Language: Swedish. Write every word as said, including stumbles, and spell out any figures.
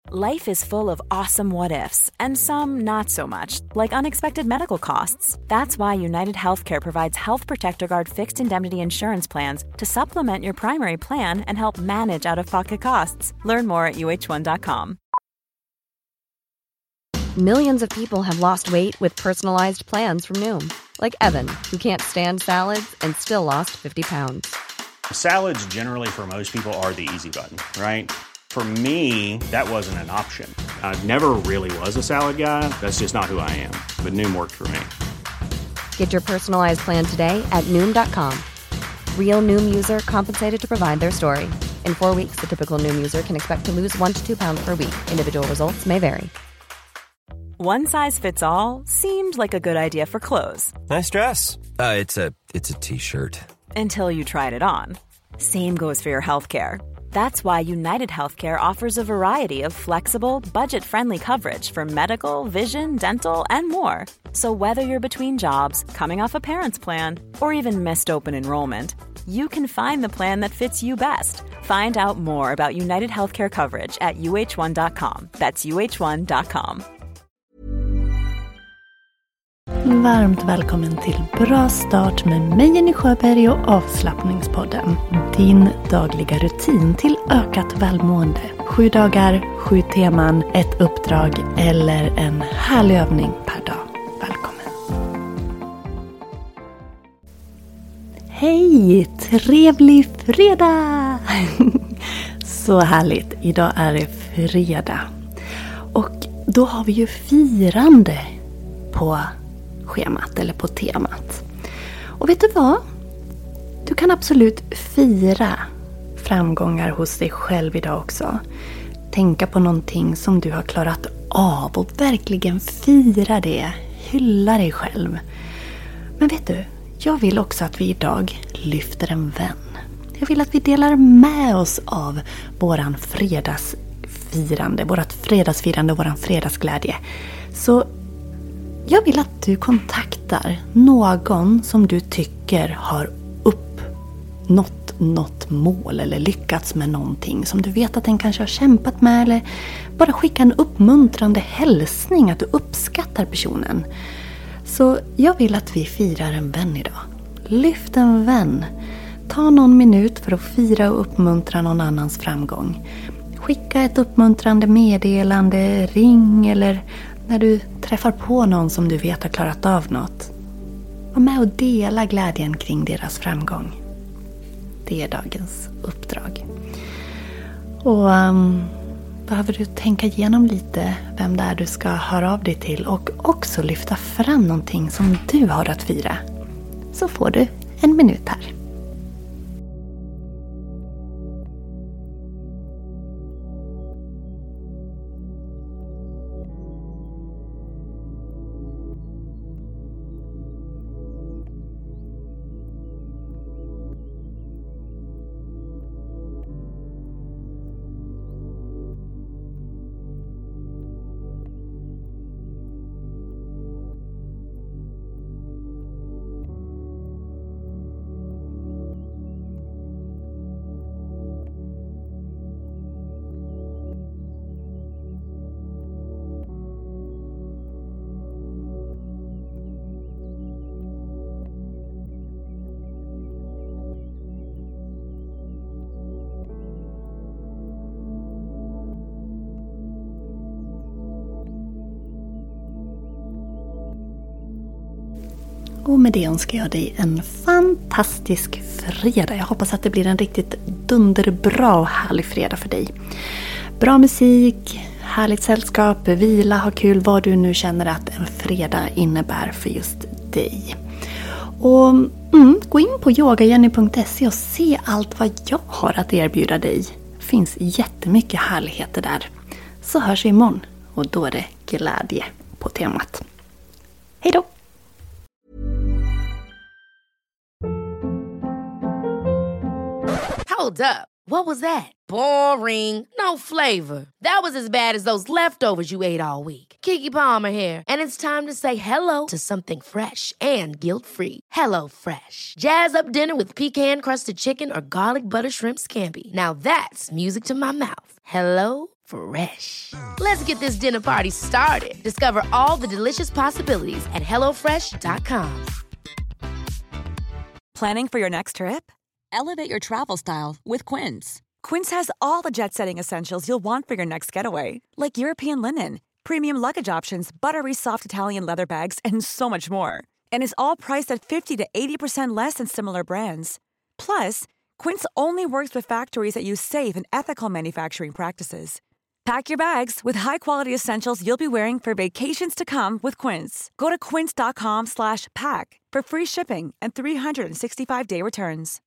Life is full of awesome what-ifs, and some not so much, like unexpected medical costs. That's why United Healthcare provides Health Protector Guard fixed indemnity insurance plans to supplement your primary plan and help manage out-of-pocket costs. Learn more at U H one dot com. Millions of people have lost weight with personalized plans from Noom. Like Evan, who can't stand salads and still lost fifty pounds. Salads generally for most people are the easy button, right? For me, that wasn't an option. I never really was a salad guy. That's just not who I am. But Noom worked for me. Get your personalized plan today at Noom dot com. Real Noom user compensated to provide their story. In four weeks, the typical Noom user can expect to lose one to two pounds per week. Individual results may vary. One size fits all seemed like a good idea for clothes. Nice dress. Uh, it's a it's a t-shirt. Until you tried it on. Same goes for your healthcare. That's why United Healthcare offers a variety of flexible, budget-friendly coverage for medical, vision, dental, and more. So whether you're between jobs, coming off a parent's plan, or even missed open enrollment, you can find the plan that fits you best. Find out more about United Healthcare coverage at U H one dot com. That's U H one dot com. Varmt välkommen till Bra start med mig Jenny Sjöberg och Avslappningspodden. Din dagliga rutin till ökat välmående. Sju dagar, sju teman, ett uppdrag eller en härlig övning per dag. Välkommen! Hej! Trevlig fredag! Så härligt! Idag är det fredag. Och då har vi ju firande på schemat eller på temat. Och vet du vad? Du kan absolut fira framgångar hos dig själv idag också. Tänka på någonting som du har klarat av och verkligen fira det. Hylla dig själv. Men vet du, jag vill också att vi idag lyfter en vän. Jag vill att vi delar med oss av våran fredagsfirande, vårat fredagsfirande och våran fredagsglädje. Så jag vill att du kontaktar någon som du tycker har uppnått något mål eller lyckats med någonting som du vet att den kanske har kämpat med, eller bara skicka en uppmuntrande hälsning att du uppskattar personen. Så jag vill att vi firar en vän idag. Lyft en vän. Ta någon minut för att fira och uppmuntra någon annans framgång. Skicka ett uppmuntrande meddelande, ring eller när du träffar på någon som du vet har klarat av något. Var med och dela glädjen kring deras framgång. Det är dagens uppdrag. Och um, behöver du tänka igenom lite vem det är du ska höra av dig till och också lyfta fram någonting som du har att fira. Så får du en minut här. Och med det önskar jag dig en fantastisk fredag. Jag hoppas att det blir en riktigt dunderbra och härlig fredag för dig. Bra musik, härligt sällskap, vila, ha kul, vad du nu känner att en fredag innebär för just dig. Och mm, gå in på yoga jenny punkt se och se allt vad jag har att erbjuda dig. Det finns jättemycket härligheter där. Så hörs vi imorgon och då är det glädje på temat. Hej då! Hold up. What was that? Boring. No flavor. That was as bad as those leftovers you ate all week. Keke Palmer here, and it's time to say hello to something fresh and guilt-free. Hello Fresh. Jazz up dinner with pecan-crusted chicken or garlic butter shrimp scampi. Now that's music to my mouth. Hello Fresh. Let's get this dinner party started. Discover all the delicious possibilities at hello fresh dot com. Planning for your next trip? Elevate your travel style with Quince. Quince has all the jet-setting essentials you'll want for your next getaway, like European linen, premium luggage options, buttery soft Italian leather bags, and so much more. And is all priced at fifty to eighty percent less than similar brands. Plus, Quince only works with factories that use safe and ethical manufacturing practices. Pack your bags with high-quality essentials you'll be wearing for vacations to come with Quince. Go to quince dot com slash pack for free shipping and three hundred sixty-five day returns.